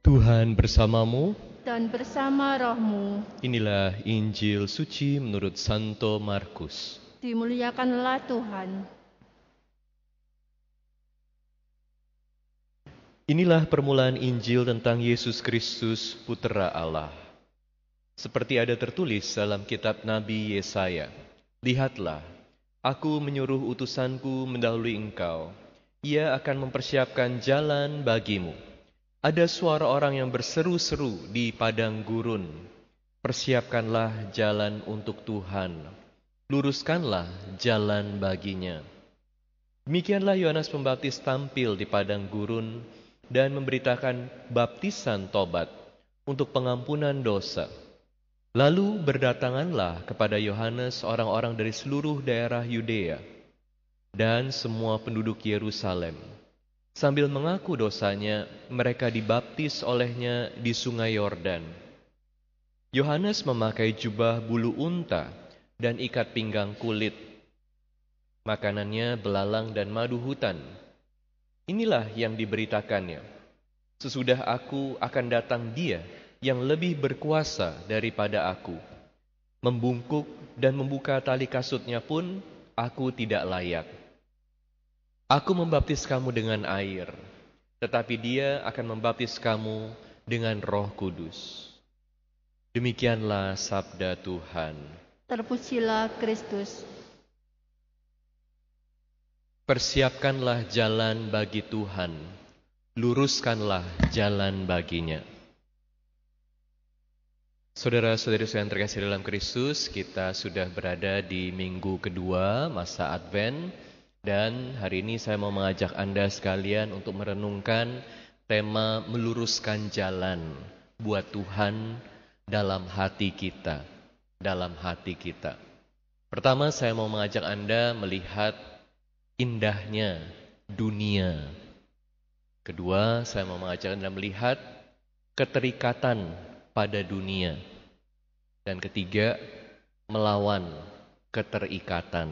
Tuhan bersamamu. Dan bersama rohmu. Inilah Injil suci menurut Santo Markus. Dimuliakanlah Tuhan. Inilah permulaan Injil tentang Yesus Kristus, Putera Allah. Seperti ada tertulis dalam kitab Nabi Yesaya, "Lihatlah, aku menyuruh utusanku mendahului engkau. Ia akan mempersiapkan jalan bagimu." Ada suara orang yang berseru-seru di padang gurun, "Persiapkanlah jalan untuk Tuhan, luruskanlah jalan baginya." Demikianlah Yohanes Pembaptis tampil di padang gurun dan memberitakan baptisan tobat untuk pengampunan dosa. Lalu berdatanganlah kepada Yohanes orang-orang dari seluruh daerah Yudea dan semua penduduk Yerusalem. Sambil mengaku dosanya, mereka dibaptis olehnya di sungai Yordan. Yohanes memakai jubah bulu unta dan ikat pinggang kulit. Makanannya belalang dan madu hutan. Inilah yang diberitakannya. "Sesudah aku akan datang Dia yang lebih berkuasa daripada aku. Membungkuk dan membuka tali kasutnya pun aku tidak layak. Aku membaptis kamu dengan air, tetapi Dia akan membaptis kamu dengan Roh Kudus." Demikianlah sabda Tuhan. Terpujilah Kristus. Persiapkanlah jalan bagi Tuhan, luruskanlah jalan baginya. Saudara-saudari yang terkasih dalam Kristus, kita sudah berada di minggu kedua masa Advent. Dan hari ini saya mau mengajak Anda sekalian untuk merenungkan tema meluruskan jalan buat Tuhan dalam hati kita. Dalam hati kita. Pertama, saya mau mengajak Anda melihat indahnya dunia. Kedua, saya mau mengajak Anda melihat keterikatan pada dunia. Dan ketiga, melawan keterikatan.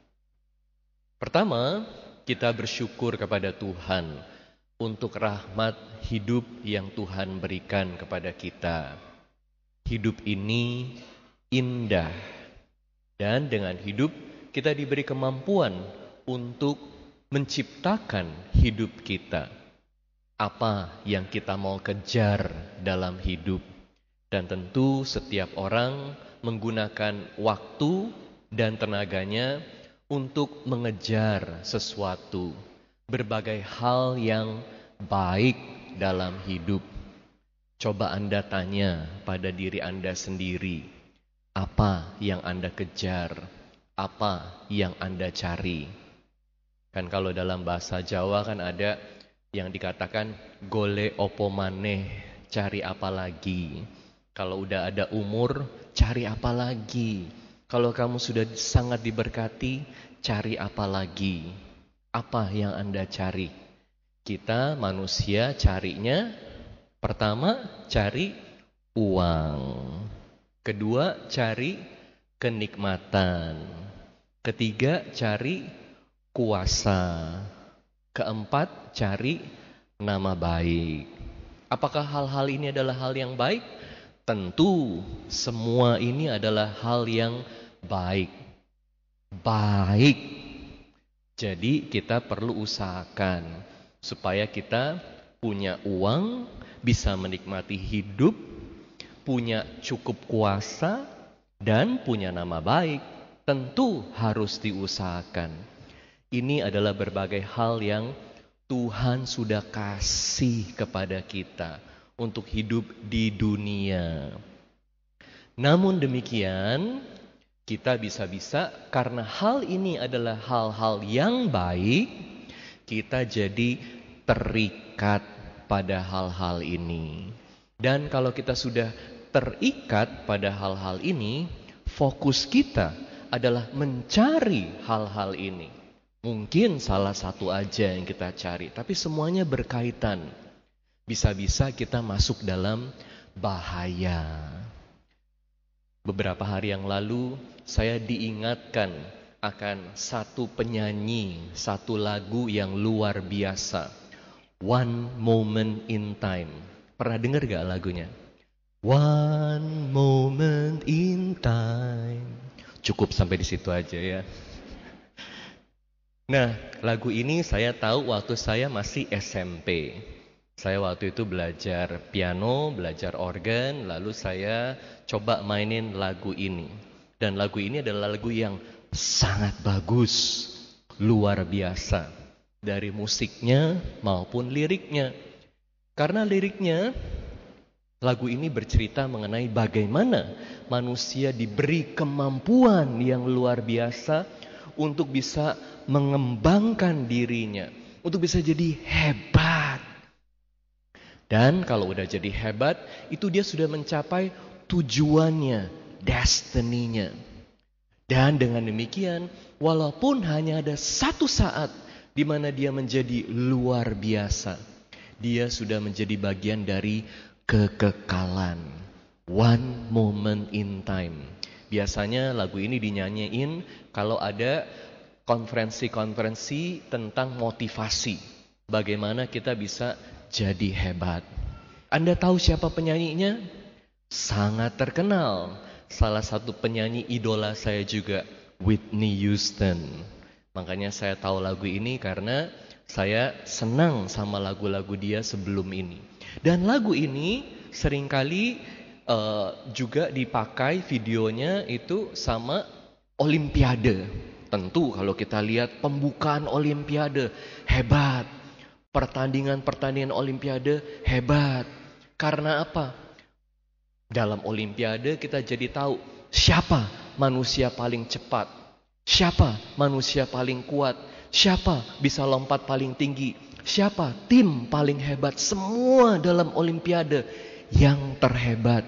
Pertama, kita bersyukur kepada Tuhan untuk rahmat hidup yang Tuhan berikan kepada kita. Hidup ini indah, dan dengan hidup kita diberi kemampuan untuk menciptakan hidup kita. Apa yang kita mau kejar dalam hidup. Dan tentu setiap orang menggunakan waktu dan tenaganya untuk mengejar sesuatu, berbagai hal yang baik dalam hidup. Coba Anda tanya pada diri Anda sendiri, apa yang Anda kejar, apa yang Anda cari. Kan kalau dalam bahasa Jawa kan ada yang dikatakan golek opo maneh, cari apa lagi. Kalau udah ada umur, cari apa lagi. Kalau kamu sudah sangat diberkati, cari apa lagi? Apa yang Anda cari? Kita manusia carinya, pertama cari uang. Kedua cari kenikmatan. Ketiga cari kuasa. Keempat cari nama baik. Apakah hal-hal ini adalah hal yang baik? Tentu semua ini adalah hal yang baik. Jadi kita perlu usahakan supaya kita punya uang, bisa menikmati hidup, punya cukup kuasa, dan punya nama baik. Tentu harus diusahakan. Ini adalah berbagai hal yang Tuhan sudah kasih kepada kita untuk hidup di dunia. Namun demikian, kita bisa-bisa karena hal ini adalah hal-hal yang baik, kita jadi terikat pada hal-hal ini. Dan kalau kita sudah terikat pada hal-hal ini, fokus kita adalah mencari hal-hal ini. Mungkin salah satu aja yang kita cari, tapi semuanya berkaitan. Bisa-bisa kita masuk dalam bahaya. Beberapa hari yang lalu saya diingatkan akan satu penyanyi, satu lagu yang luar biasa. One Moment in Time. Pernah dengar gak lagunya? One moment in time. Cukup sampai di situ aja ya. Nah, lagu ini saya tahu waktu saya masih SMP. Saya waktu itu belajar piano, belajar organ, lalu saya coba mainin lagu ini. Dan lagu ini adalah lagu yang sangat bagus, luar biasa. Dari musiknya maupun liriknya. Karena liriknya, lagu ini bercerita mengenai bagaimana manusia diberi kemampuan yang luar biasa untuk bisa mengembangkan dirinya, untuk bisa jadi hebat. Dan kalau udah jadi hebat, itu dia sudah mencapai tujuannya, destiny-nya. Dan dengan demikian, walaupun hanya ada satu saat di mana dia menjadi luar biasa, dia sudah menjadi bagian dari kekekalan. One moment in time. Biasanya lagu ini dinyanyiin kalau ada konferensi-konferensi tentang motivasi. Bagaimana kita bisa jadi hebat. Anda tahu siapa penyanyinya? Sangat terkenal. Salah satu penyanyi idola saya juga, Whitney Houston. Makanya saya tahu lagu ini karena saya senang sama lagu-lagu dia sebelum ini. Dan lagu ini seringkali juga dipakai videonya itu sama Olimpiade. Tentu kalau kita lihat pembukaan Olimpiade, hebat. Pertandingan-pertandingan Olimpiade, hebat. Karena apa? Dalam Olimpiade kita jadi tahu siapa manusia paling cepat, siapa manusia paling kuat, siapa bisa lompat paling tinggi, siapa tim paling hebat. Semua dalam Olimpiade yang terhebat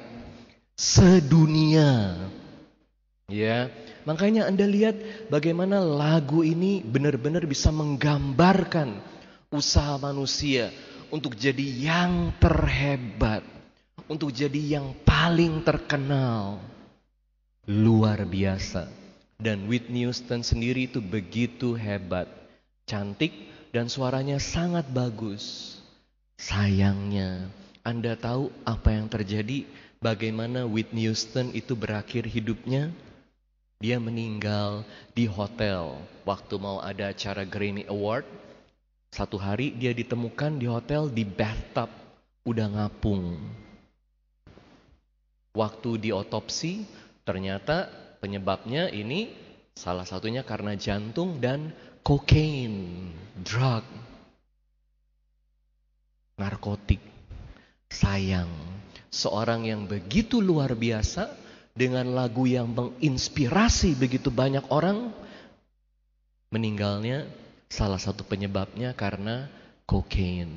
sedunia. Ya, makanya Anda lihat bagaimana lagu ini benar-benar bisa menggambarkan usaha manusia untuk jadi yang terhebat, untuk jadi yang paling terkenal. Luar biasa. Dan Whitney Houston sendiri itu begitu hebat, cantik dan suaranya sangat bagus. Sayangnya, Anda tahu apa yang terjadi? Bagaimana Whitney Houston itu berakhir hidupnya? Dia meninggal di hotel waktu mau ada acara Grammy Award. Satu hari dia ditemukan di hotel di bathtub, udah ngapung. Waktu diotopsi, ternyata penyebabnya ini salah satunya karena jantung dan kokain, drug, narkotik. Sayang, seorang yang begitu luar biasa dengan lagu yang menginspirasi begitu banyak orang, meninggalnya salah satu penyebabnya karena kokain.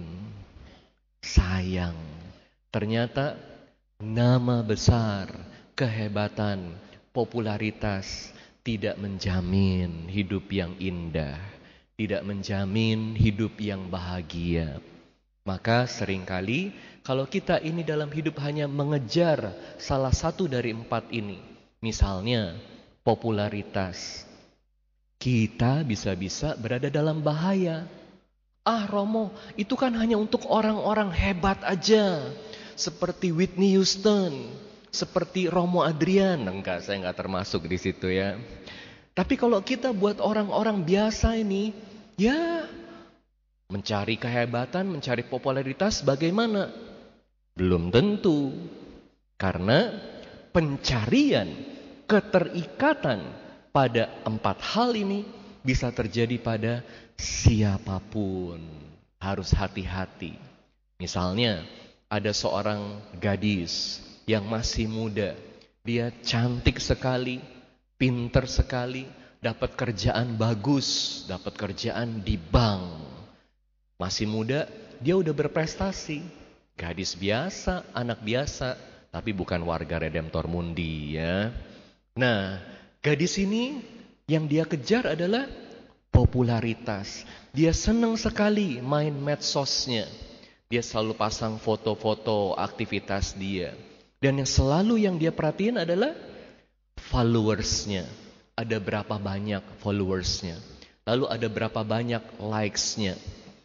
Sayang, ternyata nama besar, kehebatan, popularitas tidak menjamin hidup yang indah, tidak menjamin hidup yang bahagia. Maka seringkali kalau kita ini dalam hidup hanya mengejar salah satu dari 4 ini, misalnya popularitas, kita bisa-bisa berada dalam bahaya. Romo, itu kan hanya untuk orang-orang hebat aja. Seperti Whitney Houston, seperti Romo Adrian. Enggak, saya enggak termasuk di situ ya. Tapi kalau kita buat orang-orang biasa ini, ya mencari kehebatan, mencari popularitas bagaimana? Belum tentu. Karena pencarian keterikatan pada 4 hal ini bisa terjadi pada siapapun. Harus hati-hati. Misalnya, ada seorang gadis yang masih muda. Dia cantik sekali, pinter sekali, dapat kerjaan bagus, dapat kerjaan di bank. Masih muda, dia udah berprestasi. Gadis biasa, anak biasa, tapi bukan warga Redemptor Mundi ya. Nah, gadis ini yang dia kejar adalah popularitas. Dia senang sekali main medsosnya. Dia selalu pasang foto-foto aktivitas dia. Dan yang dia perhatiin adalah followersnya. Ada berapa banyak followersnya. Lalu ada berapa banyak likesnya.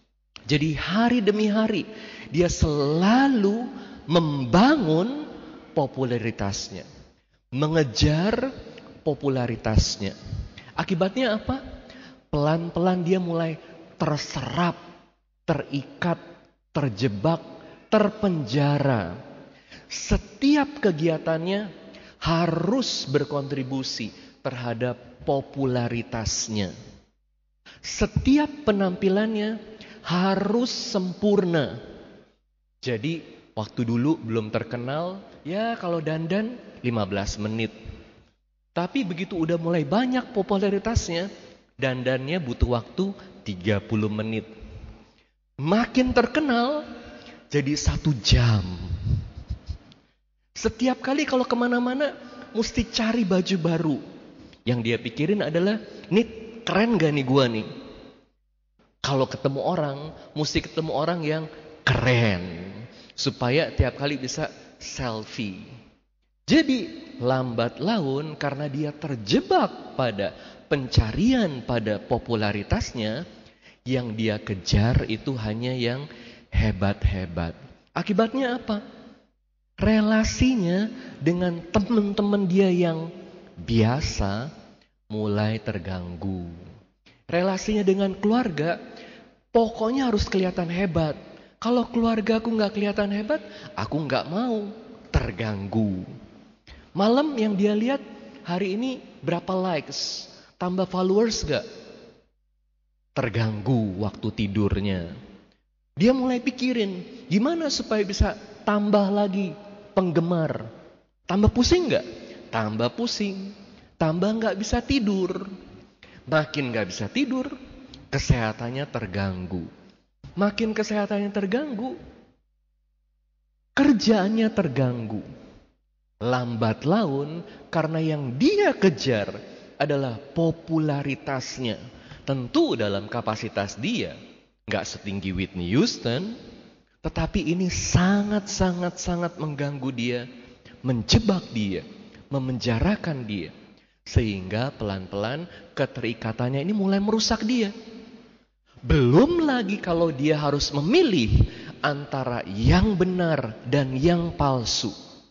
Jadi hari demi hari dia selalu membangun popularitasnya, mengejar popularitasnya. Akibatnya apa? Pelan-pelan dia mulai terserap, terikat, terjebak, terpenjara. Setiap kegiatannya harus berkontribusi terhadap popularitasnya. Setiap penampilannya harus sempurna. Jadi waktu dulu belum terkenal, ya kalau dandan 15 menit. Tapi begitu udah mulai banyak popularitasnya, dandannya butuh waktu 30 menit. Makin terkenal, jadi 1 jam. Setiap kali kalau kemana-mana, mesti cari baju baru. Yang dia pikirin adalah, nih keren gak nih gua nih? Kalau ketemu orang, mesti ketemu orang yang keren. Supaya tiap kali bisa selfie. Jadi lambat laun karena dia terjebak pada pencarian pada popularitasnya, yang dia kejar itu hanya yang hebat-hebat. Akibatnya apa? Relasinya dengan teman-teman dia yang biasa mulai terganggu. Relasinya dengan keluarga, pokoknya harus kelihatan hebat. Kalau keluarga aku gak kelihatan hebat, aku gak mau, terganggu. Malam yang dia lihat, hari ini berapa likes, tambah followers gak? Terganggu waktu tidurnya. Dia mulai pikirin, gimana supaya bisa tambah lagi penggemar. Tambah pusing gak? Tambah pusing, tambah gak bisa tidur. Makin gak bisa tidur, kesehatannya terganggu. Makin kesehatannya terganggu, kerjaannya terganggu. Lambat laun karena yang dia kejar adalah popularitasnya. Tentu dalam kapasitas dia gak setinggi Whitney Houston, tetapi ini sangat mengganggu dia, menjebak dia, memenjarakan dia. Sehingga pelan-pelan keterikatannya ini mulai merusak dia. Belum lagi kalau dia harus memilih antara yang benar dan yang palsu.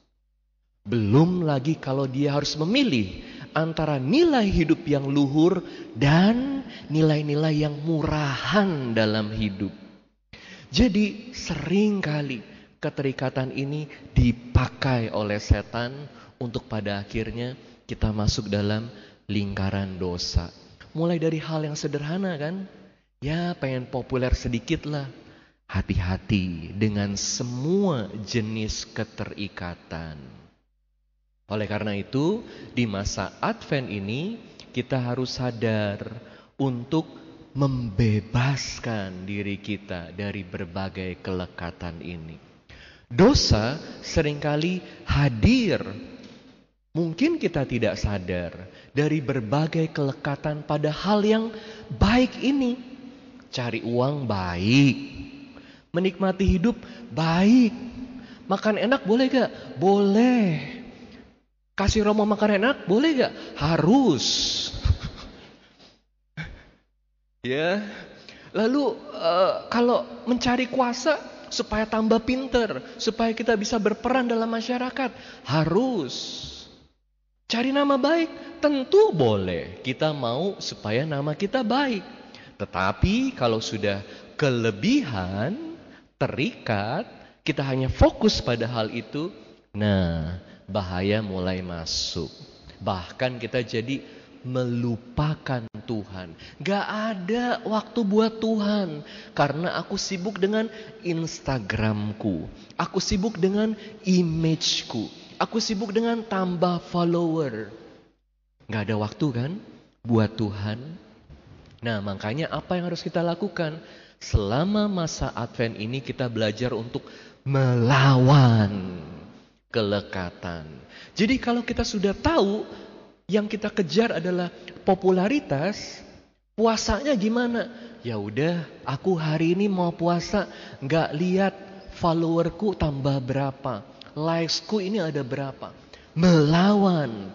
Belum lagi kalau dia harus memilih antara nilai hidup yang luhur dan nilai-nilai yang murahan dalam hidup. Jadi seringkali keterikatan ini dipakai oleh setan untuk pada akhirnya kita masuk dalam lingkaran dosa. Mulai dari hal yang sederhana kan. Ya pengen populer sedikit lah. Hati-hati dengan semua jenis keterikatan. Oleh karena itu di masa Advent ini kita harus sadar untuk membebaskan diri kita dari berbagai kelekatan ini. Dosa seringkali hadir, mungkin kita tidak sadar, dari berbagai kelekatan pada hal yang baik ini. Cari uang baik, menikmati hidup baik, makan enak boleh gak? Boleh. Kasih Romo makan enak boleh gak? Harus. Ya. Lalu kalau mencari kuasa supaya tambah pinter, supaya kita bisa berperan dalam masyarakat, harus. Cari nama baik, tentu boleh. Kita mau supaya nama kita baik. Tetapi kalau sudah kelebihan, terikat, kita hanya fokus pada hal itu, nah bahaya mulai masuk. Bahkan kita jadi melupakan Tuhan. Gak ada waktu buat Tuhan. Karena aku sibuk dengan Instagramku. Aku sibuk dengan imageku. Aku sibuk dengan tambah follower. Gak ada waktu kan buat Tuhan. Nah makanya apa yang harus kita lakukan? Selama masa Advent ini kita belajar untuk melawan kelekatan. Jadi kalau kita sudah tahu yang kita kejar adalah popularitas, puasanya gimana? Ya udah, aku hari ini mau puasa, nggak lihat followerku tambah berapa, likesku ini ada berapa. Melawan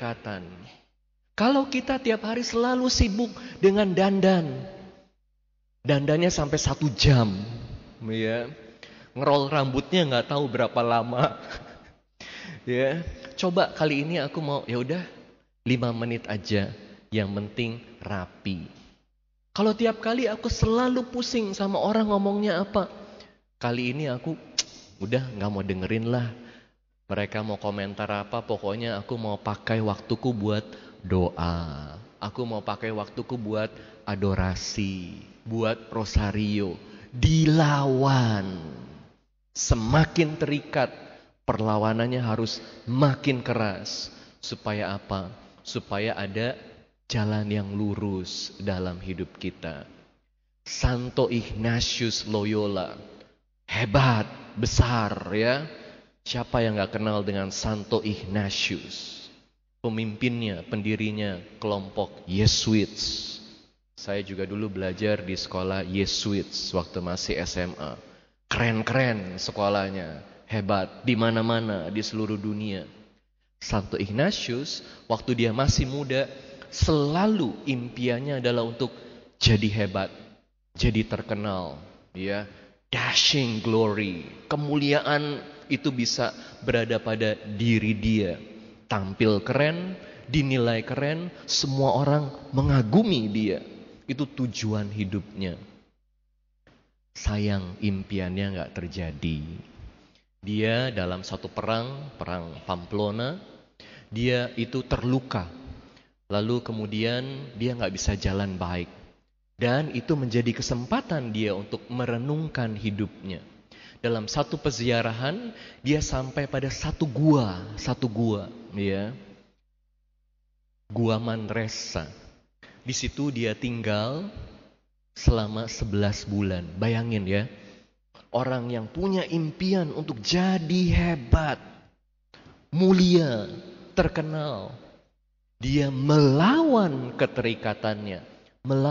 keterikatan. Kalau kita tiap hari selalu sibuk dengan dandan, Dandannya sampai 1 jam, ya. Ngerol rambutnya nggak tahu berapa lama. Ya, coba kali ini aku mau, ya udah 5 menit aja, yang penting rapi. Kalau tiap kali aku selalu pusing sama orang ngomongnya apa, kali ini aku udah nggak mau dengerin lah. Mereka mau komentar apa, pokoknya aku mau pakai waktuku buat doa. Aku mau pakai waktuku buat adorasi, buat rosario. Dilawan. Semakin terikat, perlawanannya harus makin keras. Supaya apa? Supaya ada jalan yang lurus dalam hidup kita. Santo Ignatius Loyola, hebat, besar ya. Siapa yang gak kenal dengan Santo Ignatius? Pemimpinnya, pendirinya kelompok Yesuits. Saya juga dulu belajar di sekolah Yesuits waktu masih SMA. Keren-keren sekolahnya, hebat, di mana-mana di seluruh dunia. Santo Ignatius waktu dia masih muda, selalu impiannya adalah untuk jadi hebat, jadi terkenal, ya. Dashing glory, kemuliaan itu bisa berada pada diri dia. Tampil keren, dinilai keren, semua orang mengagumi dia. Itu tujuan hidupnya. Sayang impiannya gak terjadi. Dia dalam satu perang Pamplona, dia itu terluka. Lalu kemudian dia gak bisa jalan baik. Dan itu menjadi kesempatan dia untuk merenungkan hidupnya. Dalam satu peziarahan, dia sampai pada satu gua, ya. Gua Manresa. Di situ dia tinggal selama 11 bulan. Bayangin ya, orang yang punya impian untuk jadi hebat, mulia, terkenal, dia melawan keterikatannya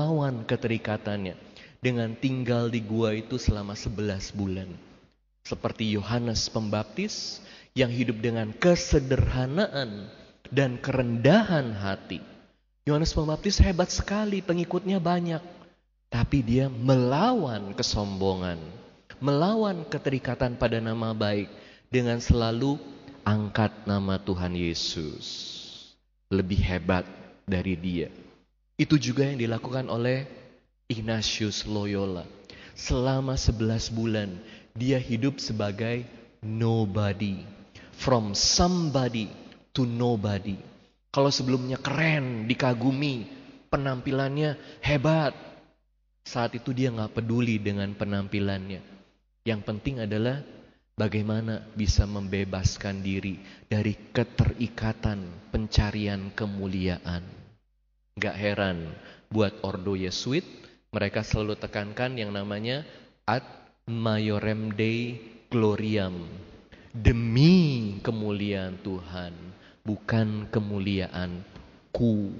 dengan tinggal di gua itu selama 11 bulan. Seperti Yohanes Pembaptis yang hidup dengan kesederhanaan dan kerendahan hati. Yohanes Pembaptis hebat sekali, pengikutnya banyak. Tapi dia melawan kesombongan, melawan keterikatan pada nama baik dengan selalu angkat nama Tuhan Yesus. Lebih hebat dari dia. Itu juga yang dilakukan oleh Ignatius Loyola. Selama 11 bulan dia hidup sebagai nobody. From somebody to nobody. Kalau sebelumnya keren, dikagumi, penampilannya hebat. Saat itu dia gak peduli dengan penampilannya. Yang penting adalah bagaimana bisa membebaskan diri dari keterikatan pencarian kemuliaan. Gak heran buat Ordo Yesuit, mereka selalu tekankan yang namanya ad maiorem Dei gloriam. Demi kemuliaan Tuhan, bukan kemuliaanku.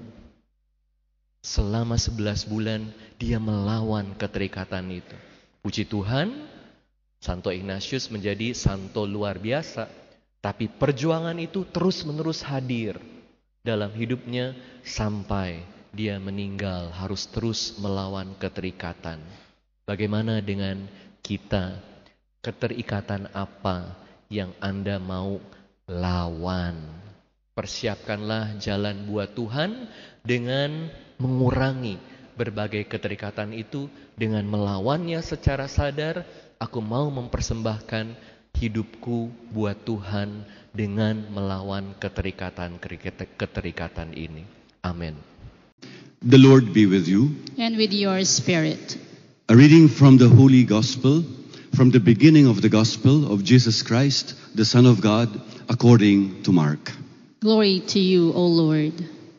Selama 11 bulan dia melawan keterikatan itu. Puji Tuhan, Santo Ignatius menjadi santo luar biasa. Tapi perjuangan itu terus-menerus hadir dalam hidupnya sampai dia meninggal, harus terus melawan keterikatan. Bagaimana dengan kita? Keterikatan apa yang Anda mau lawan? Persiapkanlah jalan buat Tuhan dengan mengurangi berbagai keterikatan itu, dengan melawannya secara sadar. Aku mau mempersembahkan hidupku buat Tuhan dengan melawan keterikatan ini. Amin. The Lord be with you. And with your spirit. A reading from the Holy Gospel, from the beginning of the Gospel of Jesus Christ, the Son of God, according to Mark. Glory to you, O Lord.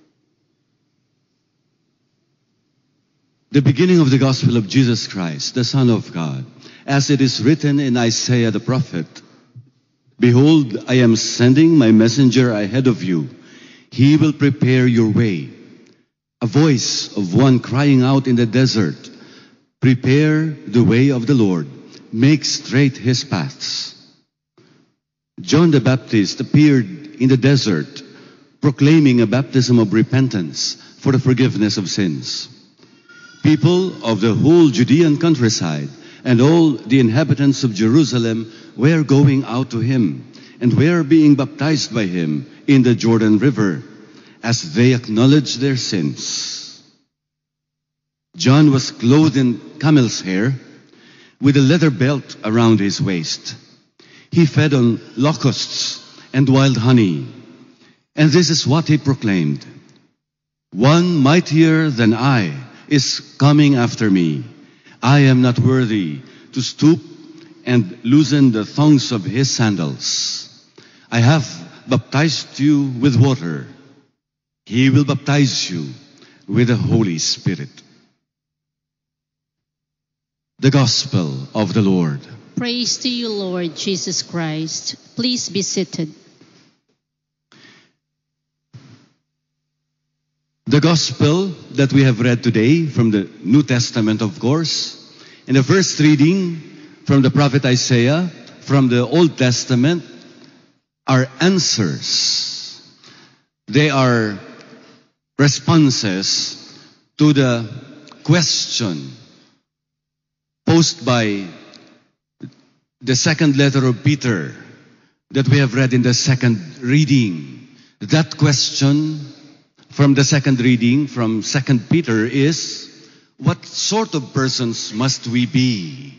The beginning of the Gospel of Jesus Christ, the Son of God, as it is written in Isaiah the prophet, Behold, I am sending my messenger ahead of you. He will prepare your way. A voice of one crying out in the desert, Prepare the way of the Lord, make straight his paths. John the Baptist appeared in the desert, proclaiming a baptism of repentance for the forgiveness of sins. People of the whole Judean countryside and all the inhabitants of Jerusalem were going out to him and were being baptized by him in the Jordan River as they acknowledged their sins. John was clothed in camel's hair with a leather belt around his waist. He fed on locusts and wild honey. And this is what he proclaimed: "One mightier than I is coming after me. I am not worthy to stoop and loosen the thongs of his sandals. I have baptized you with water. He will baptize you with the Holy Spirit." The Gospel of the Lord. Praise to you, Lord Jesus Christ. Please be seated. The Gospel that we have read today from the New Testament, of course, and the first reading from the prophet Isaiah from the Old Testament are answers. They are responses to the question posed by the second letter of Peter that we have read in the second reading. That question from the second reading from 2 Peter is, what sort of persons must we be?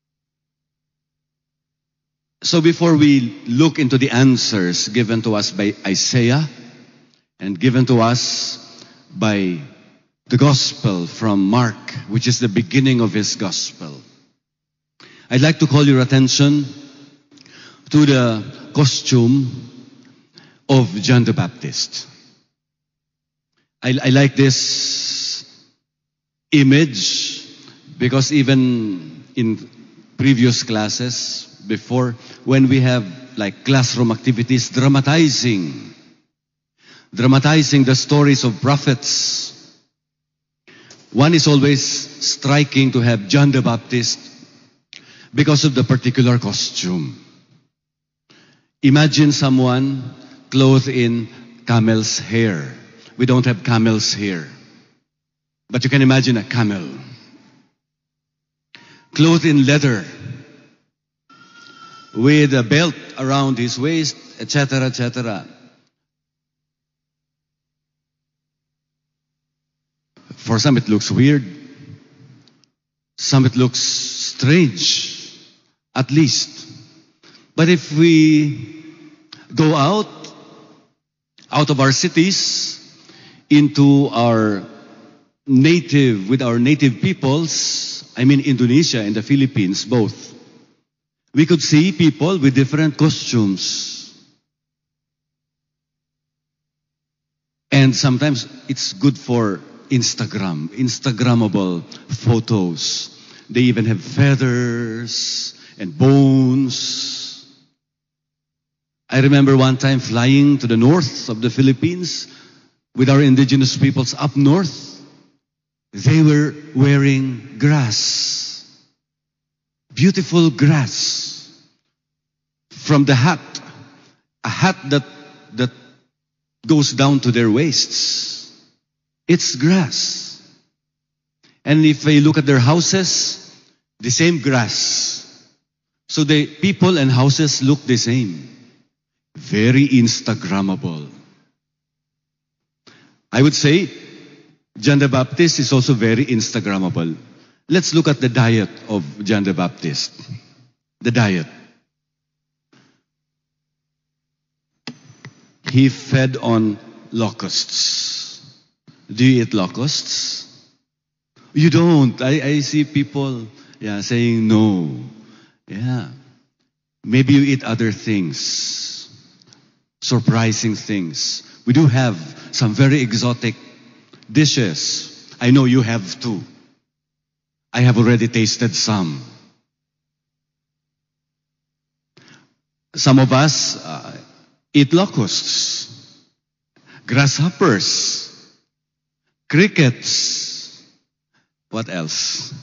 So before we look into the answers given to us by Isaiah and given to us by the Gospel from Mark, which is the beginning of his Gospel, I'd like to call your attention to the costume of John the Baptist. I like this image because even in previous classes before, when we have like classroom activities, dramatizing the stories of prophets, one is always striking to have John the Baptist because of the particular costume. Imagine someone clothed in camel's hair. We don't have camels here, but you can imagine a camel clothed in leather with a belt around his waist, etc., etc. For some it looks weird, some it looks strange, at least. But if we go out of our cities into our with our native peoples, I mean Indonesia and the Philippines both, we could see people with different costumes. And sometimes it's good for Instagrammable photos. They even have feathers and bones. I remember one time flying to the north of the Philippines with our indigenous peoples up north. They were wearing grass, beautiful grass. From the hat, a hat that goes down to their waists. It's grass. And if I look at their houses, the same grass. So the people and houses look the same. Very Instagrammable. I would say John the Baptist is also very Instagrammable. Let's look at the diet of John the Baptist. The diet. He fed on locusts. Do you eat locusts? You don't. I see people saying no. Yeah. Maybe you eat other things. Surprising things. We do have some very exotic dishes. I know you have too. I have already tasted some. Some of us eat locusts, grasshoppers, crickets. What else?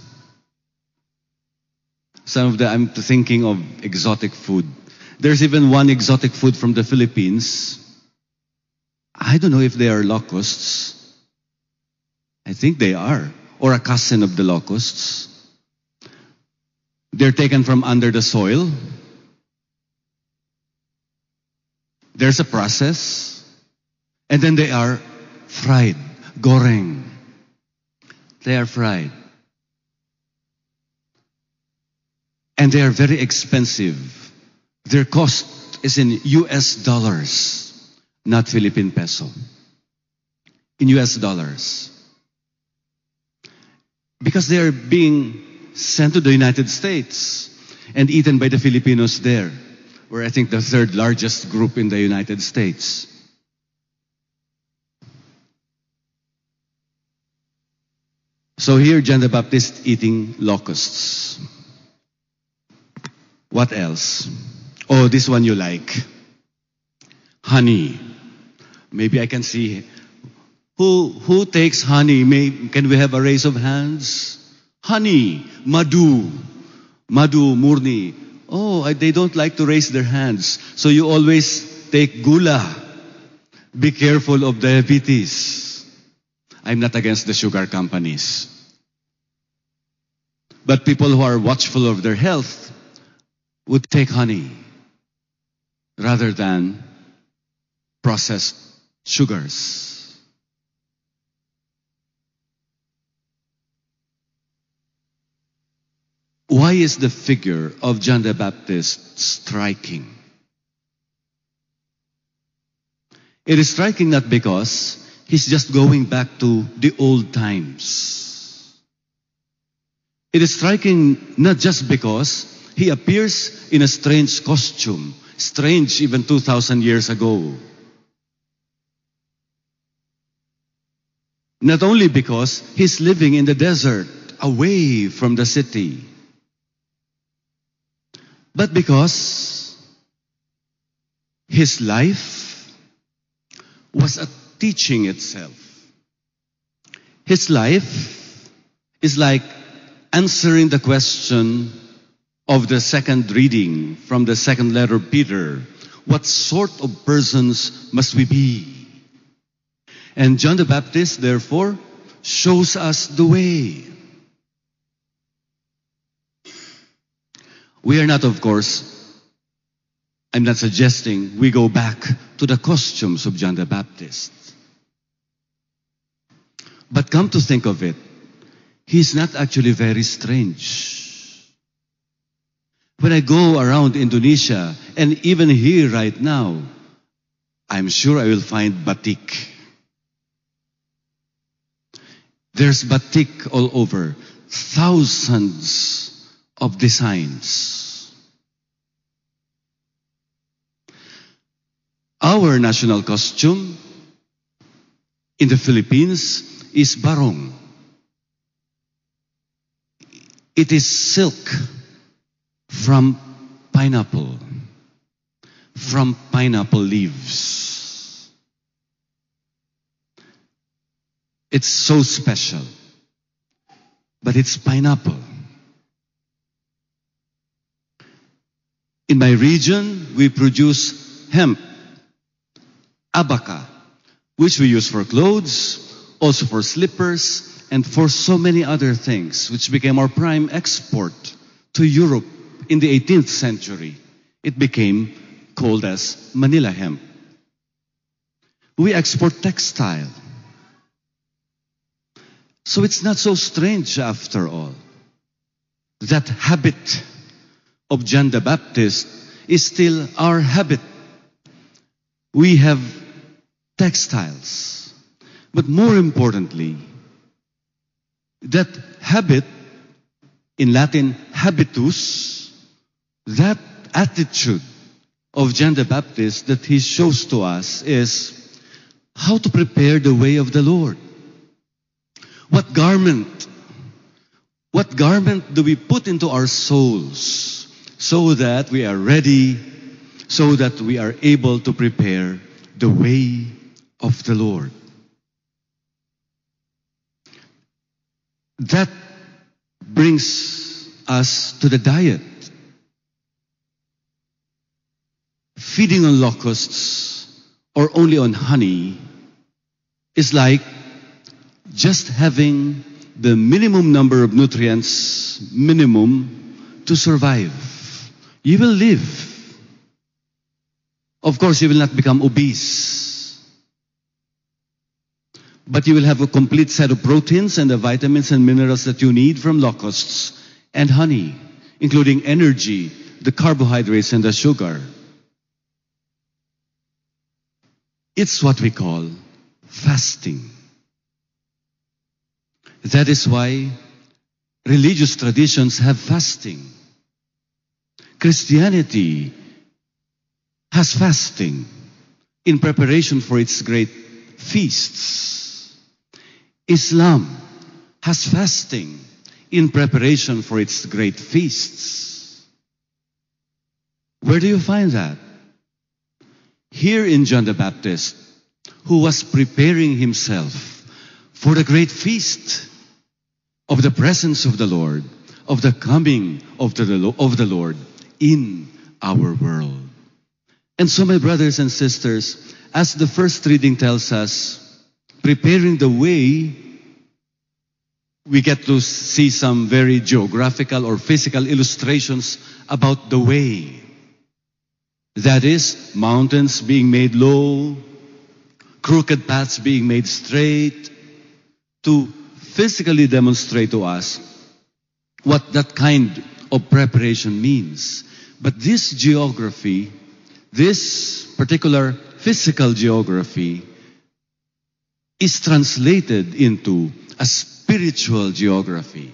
Some of I'm thinking of exotic food. There's even one exotic food from the Philippines. I don't know if they are locusts. I think they are. or a cousin of the locusts. They're taken from under the soil. There's a process. And then they are fried, goreng. They are fried. And they are very expensive. Their cost is in US dollars, not Philippine peso. In US dollars. Because they are being sent to the United States and eaten by the Filipinos there. We're, I think, the third largest group in the United States. So here, John the Baptist eating locusts. What else? Oh, this one you like. Honey. Maybe I can see. Who takes honey? Can we have a raise of hands? Honey. Madhu. Madhu, Murni. Oh, they don't like to raise their hands. So you always take gula. Be careful of diabetes. I'm not against the sugar companies. But people who are watchful of their health would take honey rather than processed sugars. Why is the figure of John the Baptist striking? It is striking not because he's just going back to the old times. It is striking not just because he appears in a strange costume, strange even 2,000 years ago. Not only because he's living in the desert, away from the city, but because his life was a teaching itself. His life is like answering the question of the second reading from the second letter of Peter. What sort of persons must we be? And John the Baptist, therefore, shows us the way. We are not, of course, I'm not suggesting we go back to the costumes of John the Baptist. But come to think of it, he's not actually very strange. When I go around Indonesia, and even here right now, I'm sure I will find batik. There's batik all over. Thousands of designs. Our national costume in the Philippines is barong. It is silk from pineapple leaves. It's so special, but it's pineapple. In my region, we produce hemp, abaca, which we use for clothes, also for slippers, and for so many other things, which became our prime export to Europe in the 18th century. It became called as Manila hemp. We export textile. So it's not so strange after all. That habit of John the Baptist is still our habit. We have textiles. But more importantly, that habit, in Latin, habitus, that attitude of John the Baptist that he shows to us is how to prepare the way of the Lord. What garment do we put into our souls so that we are ready, so that we are able to prepare the way of the Lord? That brings us to the diet. Feeding on locusts or only on honey is like just having the minimum number of nutrients, minimum, to survive. You will live. Of course, you will not become obese. But you will have a complete set of proteins and the vitamins and minerals that you need from locusts and honey, including energy, the carbohydrates, and the sugar. It's what we call fasting. That is why religious traditions have fasting. Christianity has fasting in preparation for its great feasts. Islam has fasting in preparation for its great feasts. Where do you find that? Here in John the Baptist, who was preparing himself for the great feast of the presence of the Lord, of the coming of the Lord in our world. And so, my brothers and sisters, as the first reading tells us, preparing the way, we get to see some very geographical or physical illustrations about the way. That is, mountains being made low, crooked paths being made straight, to physically demonstrate to us what that kind of preparation means. But this geography, this particular physical geography, is translated into a spiritual geography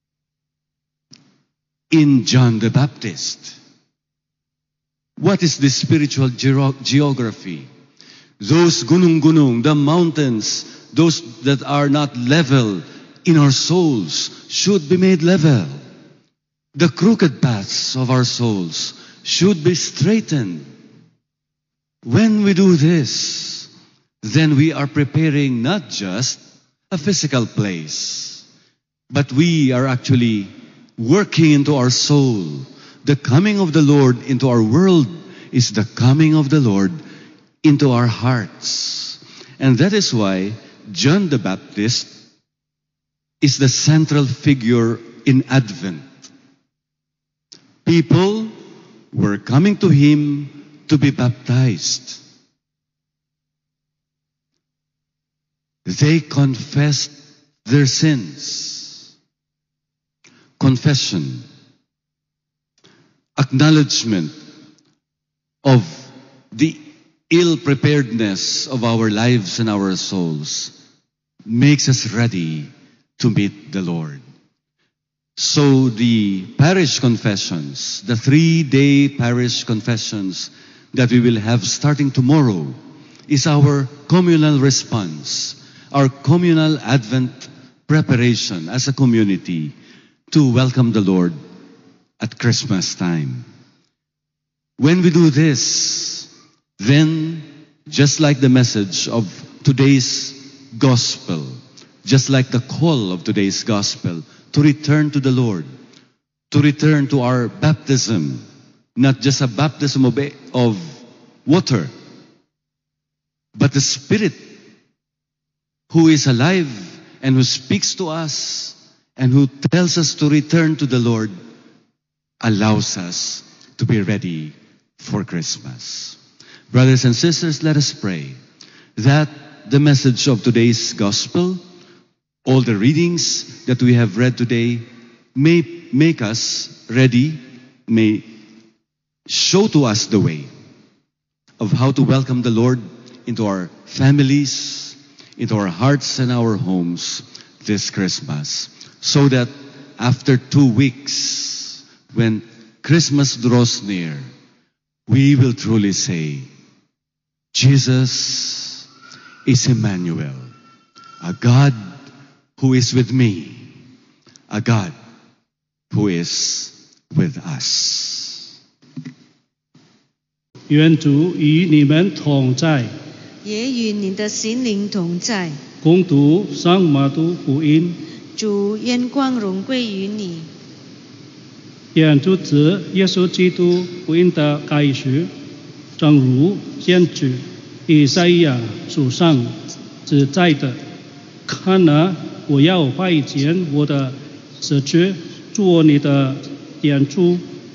in John the Baptist. What is this spiritual geography? Those gunung-gunung, the mountains, those that are not level in our souls should be made level. The crooked paths of our souls should be straightened. When we do this, then we are preparing not just a physical place, but we are actually working into our soul. The coming of the Lord into our world is the coming of the Lord into our hearts. And that is why John the Baptist is the central figure in Advent. People were coming to him to be baptized. They confessed their sins. Confession, acknowledgement of the ill-preparedness of our lives and our souls makes us ready to meet the Lord. So the parish confessions, the 3-day parish confessions that we will have starting tomorrow, is our communal response, our communal Advent preparation as a community to welcome the Lord at Christmas time. When we do this, then just like the message of today's gospel, just like the call of today's gospel, to return to the Lord, to return to our baptism, not just a baptism of water, but the Spirit who is alive and who speaks to us and who tells us to return to the Lord, allows us to be ready for Christmas. Brothers and sisters, let us pray that the message of today's gospel, all the readings that we have read today, may make us ready, may show to us the way of how to welcome the Lord into our families, into our hearts and our homes this Christmas. So that after 2 weeks, when Christmas draws near, we will truly say, Jesus is Emmanuel, a God who is with me, a God who is with us. 愿主与你们同在。 也与你的心灵同在。 恭读圣马竇福音。 主，愿光荣归于你。 愿主子耶稣基督福音的开始，正如先知以赛亚书上记载的，看哪， 我要派遣我的使者做你的点珠，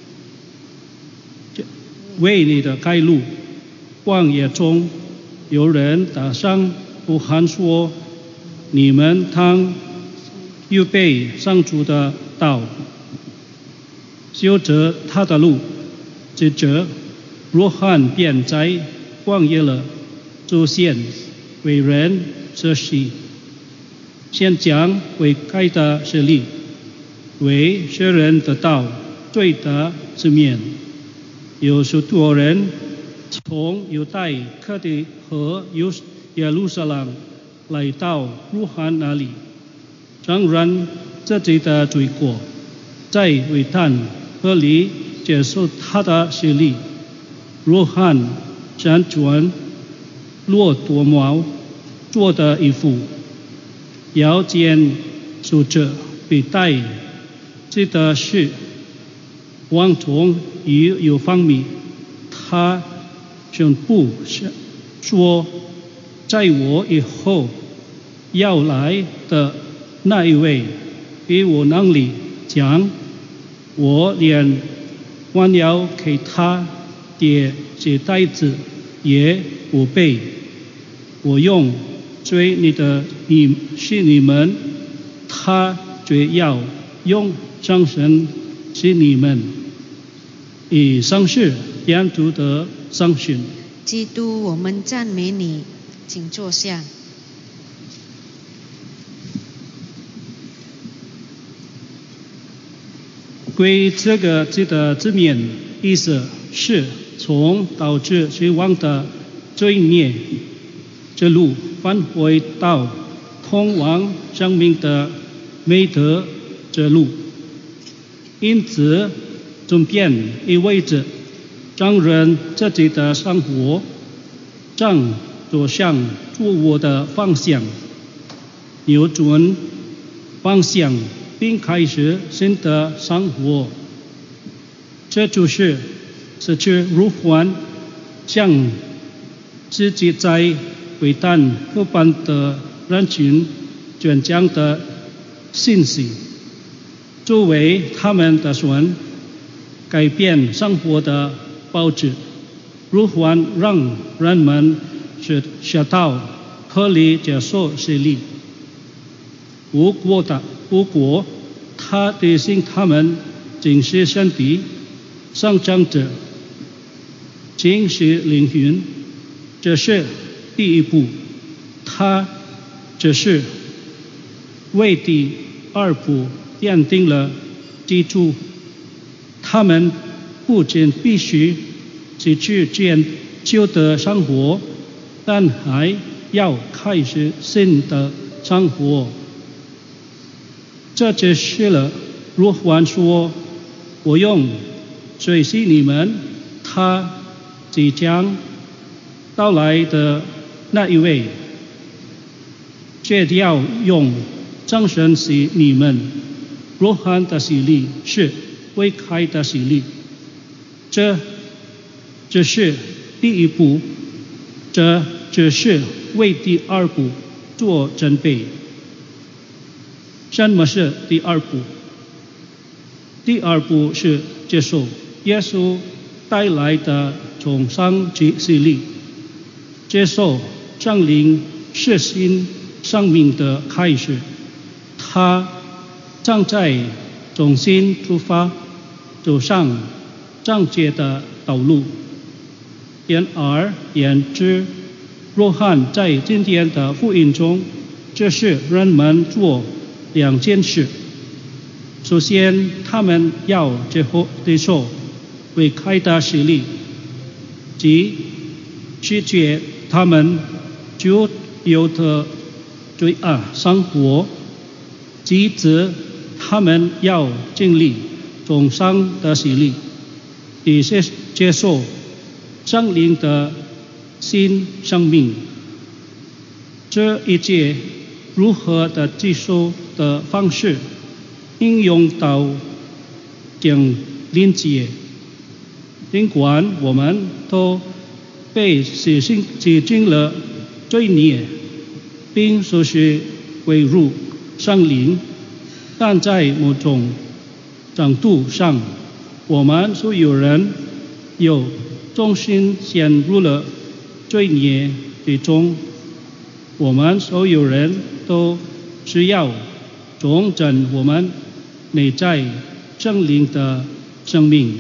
为你的开路。旷野中有人打上呼喊说：你们当预备上主的道，修着他的路。接着约翰便在旷野了出现，为人舍己，先讲为开的实力，为学人的道最的之面。有许多人从犹太各地和耶路撒冷来到约翰那里，承认自己的罪过，在约旦河里接受他的洗礼。约翰身穿骆驼毛做的衣服，腰间束着皮带，记得是王从有方米。他宣布说：在我以后要来的那一位比我能力强，我连弯腰给他的鞋带子也不配。我用追你的是你们，他却要用上身是你们。以上是基督的上训。 基督，我们赞美你，请坐下。 归这个字的字面意思是从导致死亡的罪孽之路返回到通往生命的美德之路，因此转变意味着让人自己的生活正走向错误的方向，扭转方向并开始新的生活。这就是失去约翰向自己在约旦河畔的人群传讲的信息，作为他们的神改变生活的报纸。约翰让人们学到合理接受洗礼，不过他提醒他们仅是身体上长者，仅是灵魂，这是第一步。他只是为第二步奠定了基础。他们不仅必须失去旧的生活，但还要开始新的生活。这解释了约翰说：我用水洗你们，他即将到来的那一位却要用真神洗你们。约翰的洗礼是未开的洗礼，这只是第一步，这只是为第二步做准备。什么是第二步？第二步是接受耶稣带来的重生洗礼，接受圣灵是新生命的开始。他正在重新出发，走上正确的道路。然而言之，约翰在今天的福音中，这是人们做两件事。首先，他们要接受未开的洗礼，即拒绝他们旧有的罪恶生活；其次，他们要经历重生的洗礼，以接受圣灵的新生命。这一切如何的接受的方式应用到将临界。尽管我们都被洗净了罪孽，并受洗归入圣灵，但在某种程度上，我们所有人有重心陷入了罪孽之中。我们所有人都需要重整我们内在圣灵的生命。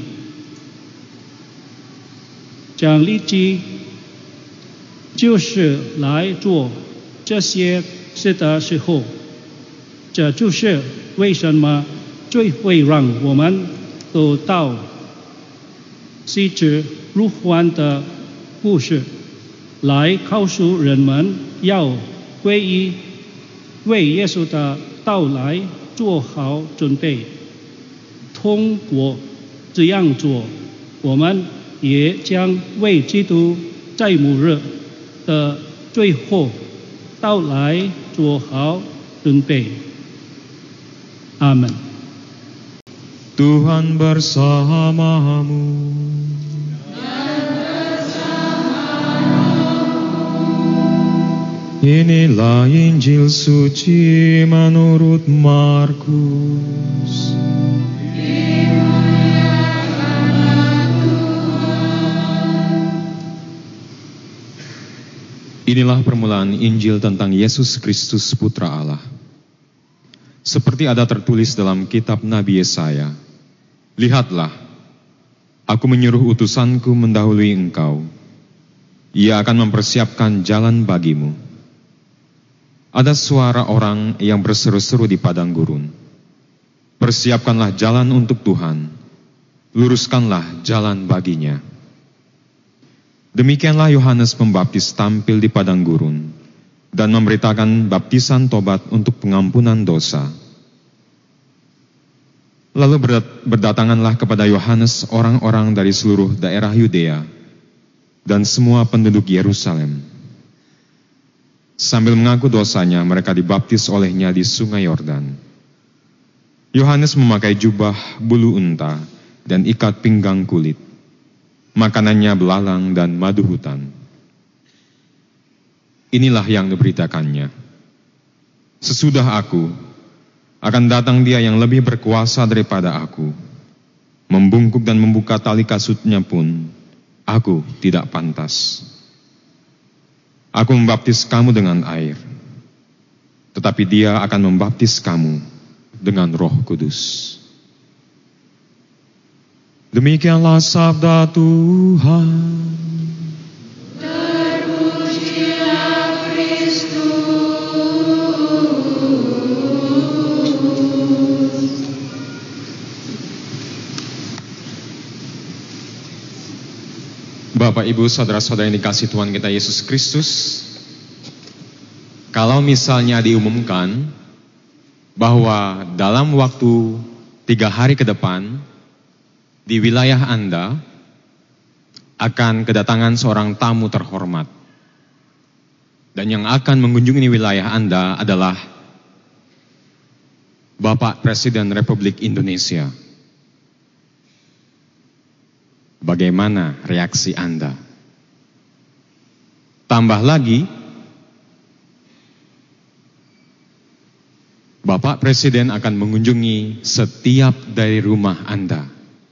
讲立基就是来做这些事的时候，这就是为什么最会让我们走到细致如幻的故事，来告诉人们要皈依，为耶稣的到来做好准备。通过这样做，我们也将为基督在末日的最后到来做好准备。阿门。 Tuhan bersamamu. Inilah Injil suci menurut Markus. Inilah permulaan Injil tentang Yesus Kristus Putra Allah. Seperti ada tertulis dalam kitab Nabi Yesaya, lihatlah, aku menyuruh utusanku mendahului engkau. Ia akan mempersiapkan jalan bagimu. Ada suara orang yang berseru-seru di padang gurun. Persiapkanlah jalan untuk Tuhan, luruskanlah jalan baginya. Demikianlah Yohanes Pembaptis tampil di padang gurun dan memberitakan baptisan tobat untuk pengampunan dosa. Lalu berdatanganlah kepada Yohanes orang-orang dari seluruh daerah Yudea dan semua penduduk Yerusalem. Sambil mengaku dosanya, mereka dibaptis olehnya di sungai Yordan. Yohanes memakai jubah bulu unta dan ikat pinggang kulit. Makanannya belalang dan madu hutan. Inilah yang diberitakannya. Sesudah aku, akan datang dia yang lebih berkuasa daripada aku. Membungkuk dan membuka tali kasutnya pun, aku tidak pantas. Aku membaptis kamu dengan air, tetapi dia akan membaptis kamu dengan Roh Kudus. Demikianlah sabda Tuhan. Terpujilah Kristus. Bapak, Ibu, saudara-saudara yang dikasihi Tuhan kita Yesus Kristus, kalau misalnya diumumkan bahwa dalam waktu 3 hari ke depan di wilayah Anda akan kedatangan seorang tamu terhormat, dan yang akan mengunjungi wilayah Anda adalah Bapak Presiden Republik Indonesia. Bagaimana reaksi Anda? Tambah lagi, Bapak Presiden akan mengunjungi setiap dari rumah Anda.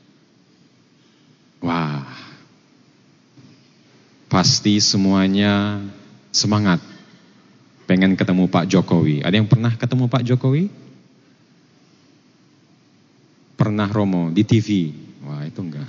Wah, pasti semuanya semangat pengen ketemu Pak Jokowi. Ada yang pernah ketemu Pak Jokowi? Pernah, Romo, di TV? Wah, itu enggak.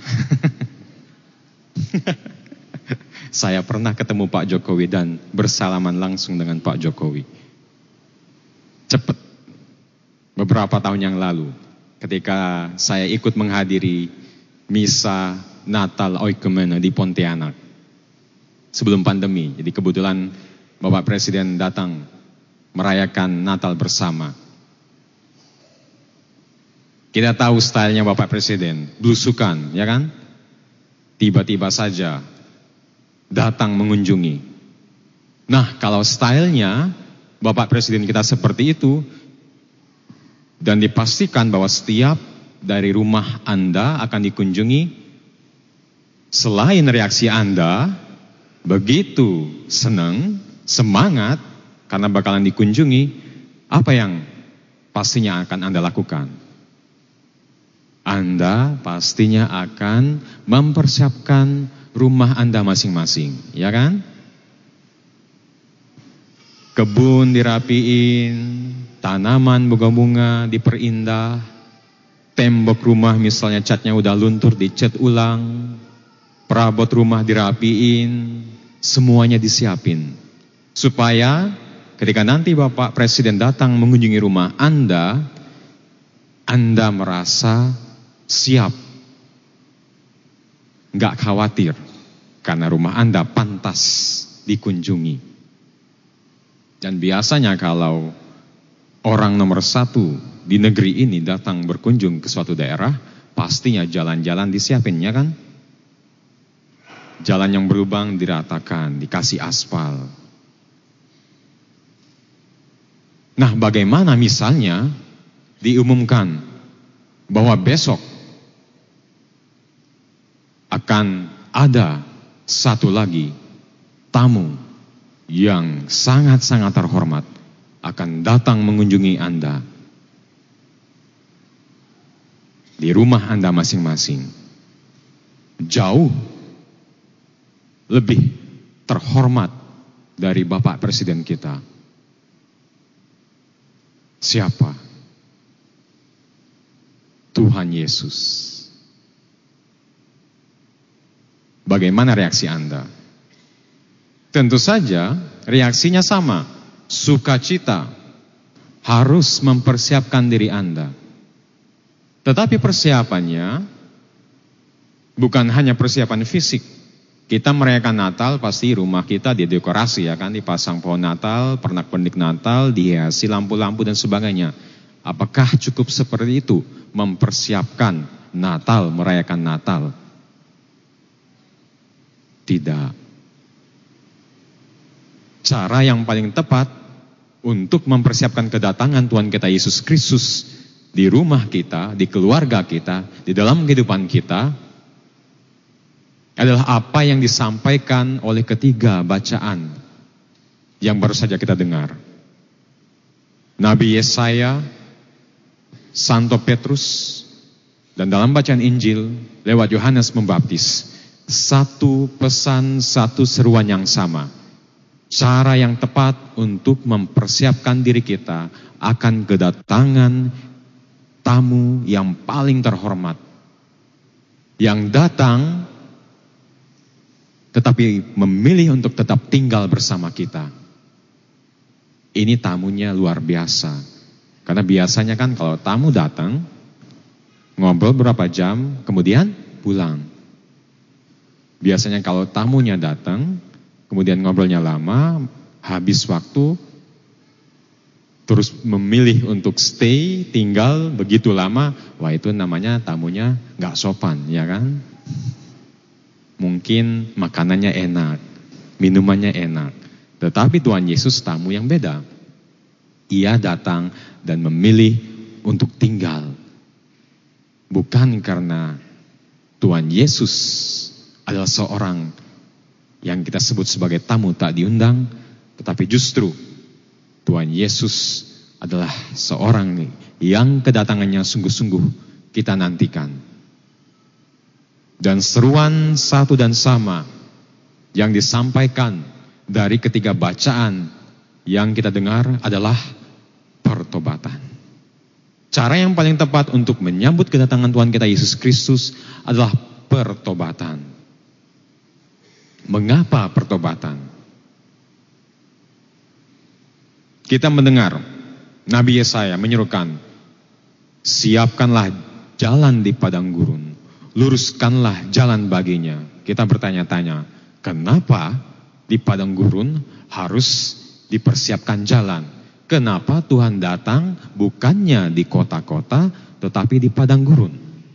Saya pernah ketemu Pak Jokowi dan bersalaman langsung dengan Pak Jokowi. Cepat. Beberapa tahun yang lalu, ketika saya ikut menghadiri misa Natal Oikumene di Pontianak sebelum pandemi. Jadi kebetulan Bapak Presiden datang merayakan Natal bersama. Kita tahu stylenya Bapak Presiden, belusukan, ya kan? Tiba-tiba saja datang mengunjungi. Nah, kalau stylenya Bapak Presiden kita seperti itu, dan dipastikan bahwa setiap dari rumah Anda akan dikunjungi, selain reaksi Anda begitu senang, semangat karena bakalan dikunjungi, apa yang pastinya akan Anda lakukan? Anda pastinya akan mempersiapkan rumah Anda masing-masing, ya kan? Kebun dirapiin, tanaman bunga-bunga diperindah, tembok rumah misalnya catnya udah luntur dicat ulang, perabot rumah dirapiin, semuanya disiapin. Supaya ketika nanti Bapak Presiden datang mengunjungi rumah Anda merasa siap, nggak khawatir, karena rumah Anda pantas dikunjungi. Dan biasanya kalau orang nomor 1 di negeri ini datang berkunjung ke suatu daerah, pastinya jalan-jalan disiapin, ya kan? Jalan yang berlubang diratakan, dikasih aspal. Nah, bagaimana misalnya diumumkan bahwa besok akan ada satu lagi tamu yang sangat-sangat terhormat akan datang mengunjungi Anda di rumah Anda masing-masing. Jauh lebih terhormat dari Bapak Presiden kita. Siapa? Tuhan Yesus. Bagaimana reaksi Anda? Tentu saja reaksinya sama. Sukacita. Harus mempersiapkan diri Anda. Tetapi persiapannya bukan hanya persiapan fisik. Kita merayakan Natal, pasti rumah kita didekorasi, ya kan, dipasang pohon Natal, pernak-pernik Natal, dihiasi lampu-lampu dan sebagainya. Apakah cukup seperti itu mempersiapkan Natal, merayakan Natal? Tidak. Cara yang paling tepat untuk mempersiapkan kedatangan Tuhan kita Yesus Kristus di rumah kita, di keluarga kita, di dalam kehidupan kita, adalah apa yang disampaikan oleh ketiga bacaan yang baru saja kita dengar. Nabi Yesaya, Santo Petrus, dan dalam bacaan Injil lewat Yohanes Pembaptis, satu pesan, satu seruan yang sama. Cara yang tepat untuk mempersiapkan diri kita akan kedatangan tamu yang paling terhormat, yang datang tetapi memilih untuk tetap tinggal bersama kita. Ini tamunya luar biasa. Karena biasanya kan kalau tamu datang, ngobrol berapa jam, kemudian pulang. Biasanya kalau tamunya datang, kemudian ngobrolnya lama, habis waktu, terus memilih untuk stay, tinggal begitu lama, wah itu namanya tamunya gak sopan, ya kan? Mungkin makanannya enak, minumannya enak. Tetapi Tuhan Yesus tamu yang beda. Ia datang dan memilih untuk tinggal. Bukan karena Tuhan Yesus adalah seorang yang kita sebut sebagai tamu tak diundang, tetapi justru Tuhan Yesus adalah seorang yang kedatangannya sungguh-sungguh kita nantikan. Dan seruan satu dan sama yang disampaikan dari ketiga bacaan yang kita dengar adalah pertobatan. Cara yang paling tepat untuk menyambut kedatangan Tuhan kita Yesus Kristus adalah pertobatan. Mengapa pertobatan? Kita mendengar Nabi Yesaya menyerukan, siapkanlah jalan di padang gurun, luruskanlah jalan baginya. Kita bertanya-tanya, kenapa di padang gurun harus dipersiapkan jalan? Kenapa Tuhan datang bukannya di kota-kota, tetapi di padang gurun?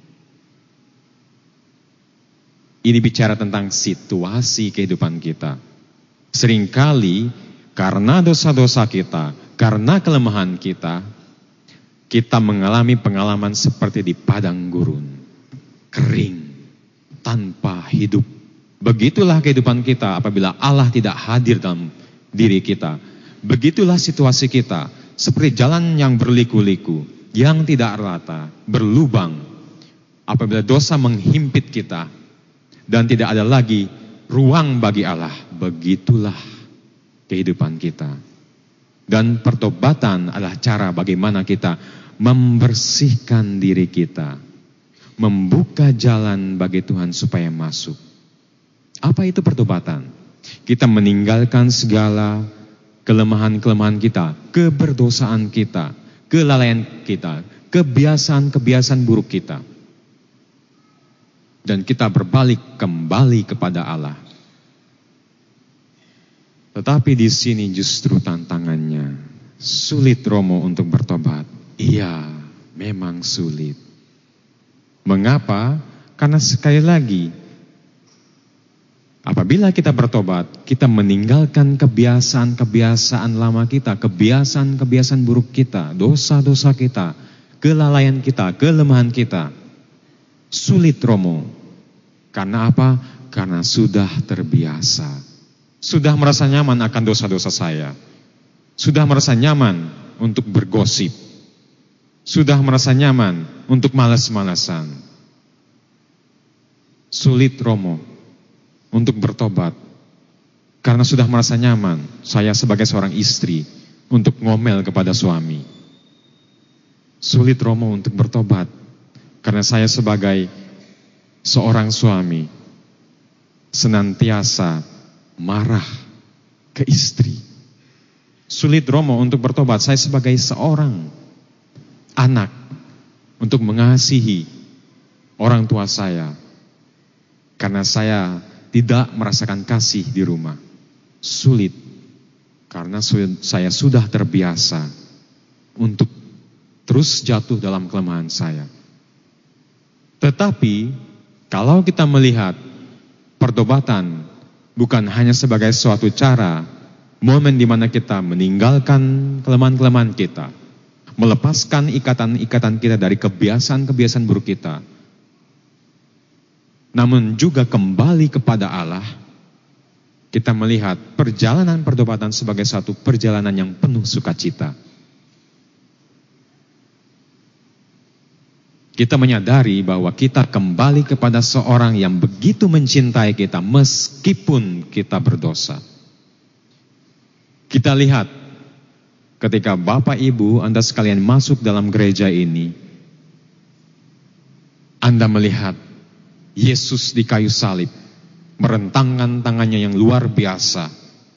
Ini bicara tentang situasi kehidupan kita. Seringkali karena dosa-dosa kita, karena kelemahan kita, kita mengalami pengalaman seperti di padang gurun. Kering, tanpa hidup. Begitulah kehidupan kita apabila Allah tidak hadir dalam diri kita. Begitulah situasi kita seperti jalan yang berliku-liku, yang tidak rata, berlubang. Apabila dosa menghimpit kita dan tidak ada lagi ruang bagi Allah, begitulah kehidupan kita. Dan pertobatan adalah cara bagaimana kita membersihkan diri kita, membuka jalan bagi Tuhan supaya masuk. Apa itu pertobatan? Kita meninggalkan segala kelemahan-kelemahan kita, keberdosaan kita, kelalaian kita, kebiasaan-kebiasaan buruk kita. Dan kita berbalik kembali kepada Allah. Tetapi di sini justru tantangannya. Sulit Romo untuk bertobat. Iya, memang sulit. Mengapa? Karena sekali lagi, apabila kita bertobat, kita meninggalkan kebiasaan-kebiasaan lama kita, kebiasaan-kebiasaan buruk kita, dosa-dosa kita, kelalaian kita, kelemahan kita. Sulit Romo. Karena apa? Karena sudah terbiasa. Sudah merasa nyaman akan dosa-dosa saya. Sudah merasa nyaman untuk bergosip. Sudah merasa nyaman untuk malas-malasan. Sulit Romo untuk bertobat. Karena sudah merasa nyaman saya sebagai seorang istri untuk ngomel kepada suami. Sulit Romo untuk bertobat. Karena saya sebagai seorang suami senantiasa marah ke istri. Sulit Romo untuk bertobat. Saya sebagai seorang anak untuk mengasihi orang tua saya. Karena saya tidak merasakan kasih di rumah. Sulit. Karena saya sudah terbiasa untuk terus jatuh dalam kelemahan saya. Tetapi kalau kita melihat pertobatan bukan hanya sebagai suatu cara, momen di mana kita meninggalkan kelemahan-kelemahan kita, melepaskan ikatan-ikatan kita dari kebiasaan-kebiasaan buruk kita, namun juga kembali kepada Allah, kita melihat perjalanan pertobatan sebagai satu perjalanan yang penuh sukacita. Kita menyadari bahwa kita kembali kepada seorang yang begitu mencintai kita meskipun kita berdosa. Kita lihat ketika Bapak Ibu Anda sekalian masuk dalam gereja ini, Anda melihat Yesus di kayu salib, merentangkan tangannya yang luar biasa,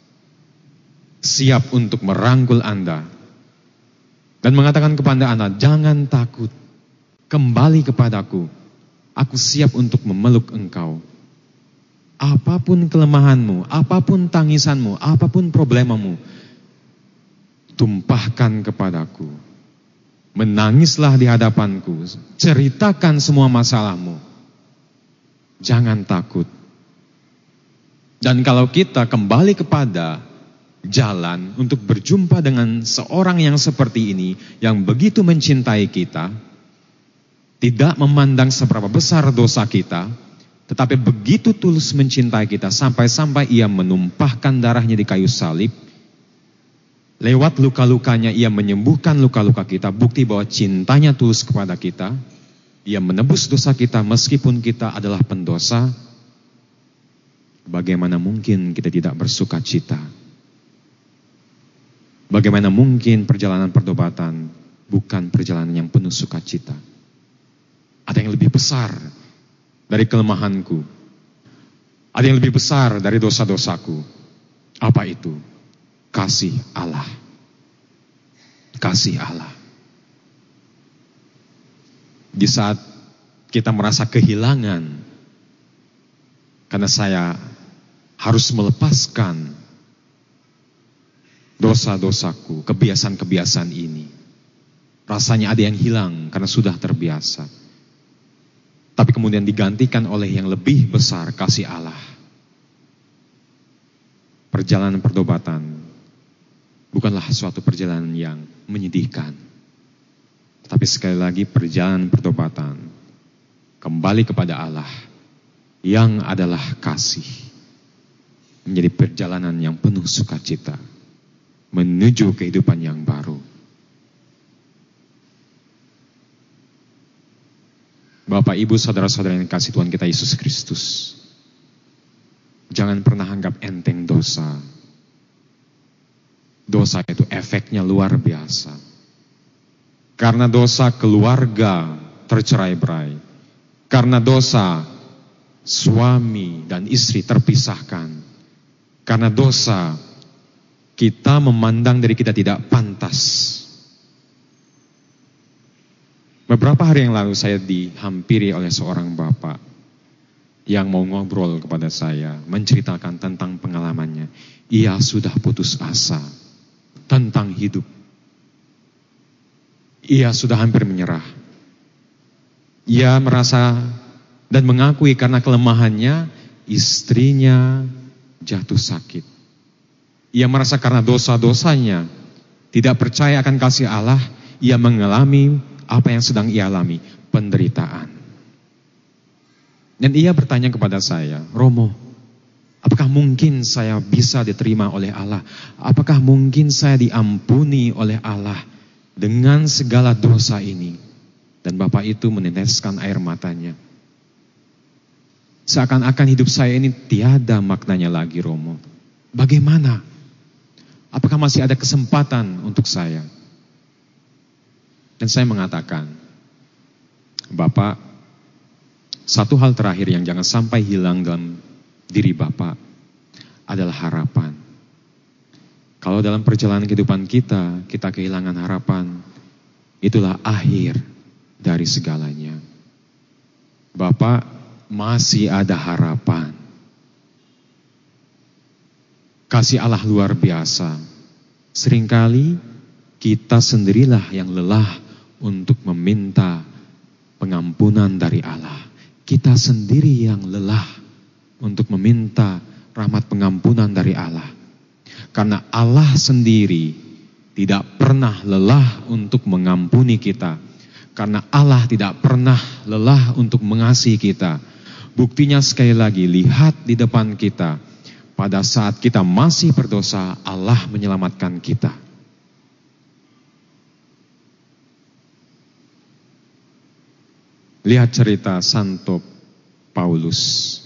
siap untuk merangkul Anda, dan mengatakan kepada Anda, jangan takut, kembali kepadaku, aku siap untuk memeluk engkau. Apapun kelemahanmu, apapun tangisanmu, apapun problemamu, tumpahkan kepadaku. Menangislah di hadapanku, ceritakan semua masalahmu. Jangan takut. Dan kalau kita kembali kepada jalan untuk berjumpa dengan seorang yang seperti ini, yang begitu mencintai kita, tidak memandang seberapa besar dosa kita, tetapi begitu tulus mencintai kita sampai-sampai ia menumpahkan darahnya di kayu salib. Lewat luka-lukanya ia menyembuhkan luka-luka kita, bukti bahwa cintanya tulus kepada kita. Ia menebus dosa kita meskipun kita adalah pendosa. Bagaimana mungkin kita tidak bersuka cita? Bagaimana mungkin perjalanan pertobatan bukan perjalanan yang penuh sukacita? Ada yang lebih besar dari kelemahanku. Ada yang lebih besar dari dosa-dosaku. Apa itu? Kasih Allah. Kasih Allah. Di saat kita merasa kehilangan, karena saya harus melepaskan dosa-dosaku, kebiasaan-kebiasaan ini. Rasanya ada yang hilang karena sudah terbiasa. Tapi kemudian digantikan oleh yang lebih besar, kasih Allah. Perjalanan pertobatan bukanlah suatu perjalanan yang menyedihkan. Tapi sekali lagi perjalanan pertobatan kembali kepada Allah yang adalah kasih. Menjadi perjalanan yang penuh sukacita menuju kehidupan yang baru. Bapak, Ibu, saudara-saudara yang dikasihi Tuhan kita Yesus Kristus, jangan pernah anggap enteng dosa. Dosa itu efeknya luar biasa. Karena dosa keluarga tercerai-berai. Karena dosa suami dan istri terpisahkan. Karena dosa kita memandang diri kita tidak pantas. Beberapa hari yang lalu saya dihampiri oleh seorang bapak yang mau ngobrol kepada saya, menceritakan tentang pengalamannya. Ia sudah putus asa tentang hidup. Ia sudah hampir menyerah. Ia merasa dan mengakui karena kelemahannya, istrinya jatuh sakit. Ia merasa karena dosa-dosanya, tidak percaya akan kasih Allah, ia mengalami apa yang sedang ia alami, penderitaan. Dan ia bertanya kepada saya, Romo, apakah mungkin saya bisa diterima oleh Allah? Apakah mungkin saya diampuni oleh Allah dengan segala dosa ini? Dan Bapak itu meneteskan air matanya. Seakan-akan hidup saya ini tiada maknanya lagi, Romo. Bagaimana? Apakah masih ada kesempatan untuk saya? Dan saya mengatakan, Bapak, satu hal terakhir yang jangan sampai hilang dalam diri Bapak adalah harapan. Kalau dalam perjalanan kehidupan kita kehilangan harapan, itulah akhir dari segalanya. Bapak, masih ada harapan. Kasih Allah luar biasa. Seringkali kita sendirilah yang lelah untuk meminta pengampunan dari Allah. Kita sendiri yang lelah untuk meminta rahmat pengampunan dari Allah. Karena Allah sendiri tidak pernah lelah untuk mengampuni kita. Karena Allah tidak pernah lelah untuk mengasihi kita. Buktinya sekali lagi, lihat di depan kita. Pada saat kita masih berdosa, Allah menyelamatkan kita. Lihat cerita Santo Paulus.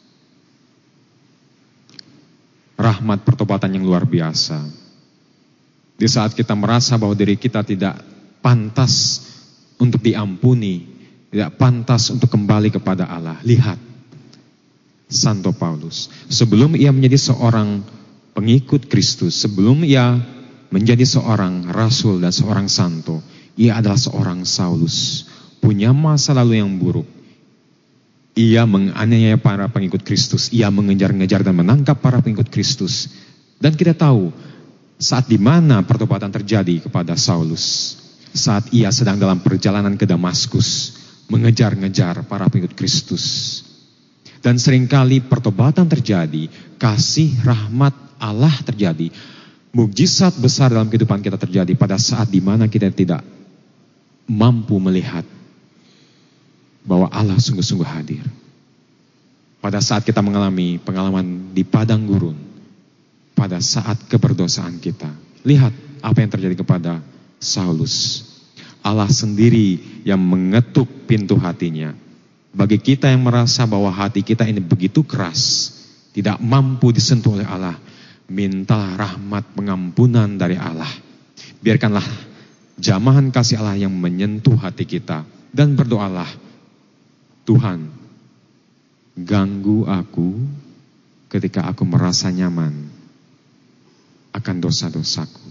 Rahmat pertobatan yang luar biasa. Di saat kita merasa bahwa diri kita tidak pantas untuk diampuni, tidak pantas untuk kembali kepada Allah. Lihat Santo Paulus. Sebelum ia menjadi seorang pengikut Kristus, sebelum ia menjadi seorang rasul dan seorang santo, ia adalah seorang Saulus. Punya masa lalu yang buruk. Ia menganiaya para pengikut Kristus. Ia mengejar-ngejar dan menangkap para pengikut Kristus. Dan kita tahu saat di mana pertobatan terjadi kepada Saulus. Saat ia sedang dalam perjalanan ke Damaskus, mengejar-ngejar para pengikut Kristus. Dan seringkali pertobatan terjadi, kasih rahmat Allah terjadi, mukjizat besar dalam kehidupan kita terjadi pada saat di mana kita tidak mampu melihat bahwa Allah sungguh-sungguh hadir. Pada saat kita mengalami pengalaman di padang gurun, pada saat keberdosaan kita, lihat apa yang terjadi kepada Saulus. Allah sendiri yang mengetuk pintu hatinya. Bagi kita yang merasa bahwa hati kita ini begitu keras, tidak mampu disentuh oleh Allah, mintalah rahmat pengampunan dari Allah. Biarkanlah jamahan kasih Allah yang menyentuh hati kita. Dan berdoalah, Tuhan, ganggu aku ketika aku merasa nyaman akan dosa-dosaku.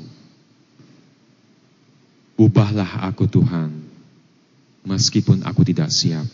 Ubahlah aku Tuhan, meskipun aku tidak siap.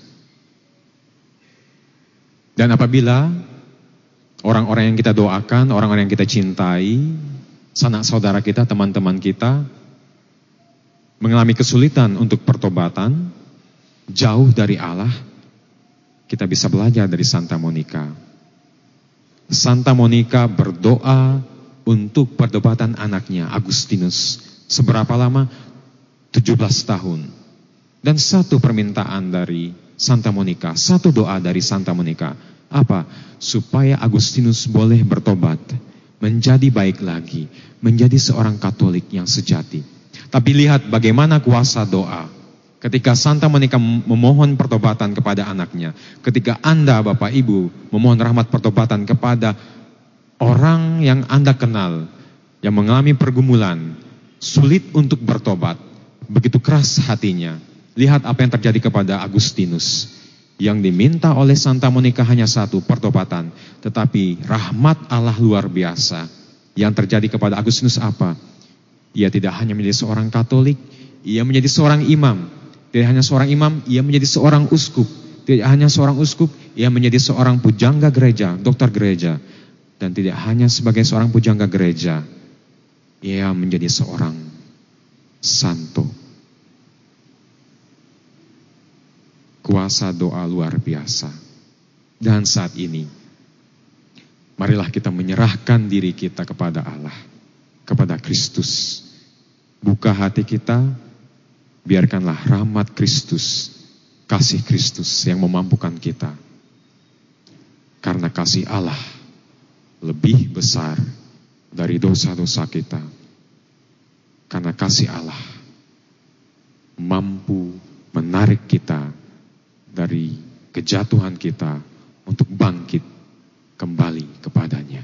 Dan apabila orang-orang yang kita doakan, orang-orang yang kita cintai, sanak saudara kita, teman-teman kita, mengalami kesulitan untuk pertobatan, jauh dari Allah, kita bisa belajar dari Santa Monica. Santa Monica berdoa untuk pertobatan anaknya, Agustinus. Seberapa lama? 17 tahun. Dan satu permintaan dari Santa Monica, satu doa dari Santa Monica. Apa? Supaya Agustinus boleh bertobat, menjadi baik lagi, menjadi seorang Katolik yang sejati. Tapi lihat bagaimana kuasa doa. Ketika Santa Monica memohon pertobatan kepada anaknya, ketika Anda, Bapak Ibu, memohon rahmat pertobatan kepada orang yang Anda kenal, yang mengalami pergumulan, sulit untuk bertobat, begitu keras hatinya. Lihat apa yang terjadi kepada Agustinus. Yang diminta oleh Santa Monica hanya satu, pertobatan. Tetapi rahmat Allah luar biasa. Yang terjadi kepada Agustinus apa? Ia tidak hanya menjadi seorang Katolik, ia menjadi seorang imam. Tidak hanya seorang imam, ia menjadi seorang uskup. Tidak hanya seorang uskup, ia menjadi seorang pujangga gereja, dokter gereja. Dan tidak hanya sebagai seorang pujangga gereja, ia menjadi seorang santo. Kuasa doa luar biasa. Dan saat ini, marilah kita menyerahkan diri kita kepada Allah, kepada Kristus. Buka hati kita, biarkanlah rahmat Kristus, kasih Kristus yang memampukan kita. Karena kasih Allah lebih besar dari dosa-dosa kita. Karena kasih Allah mampu menarik kita dari kejatuhan kita untuk bangkit kembali kepadanya.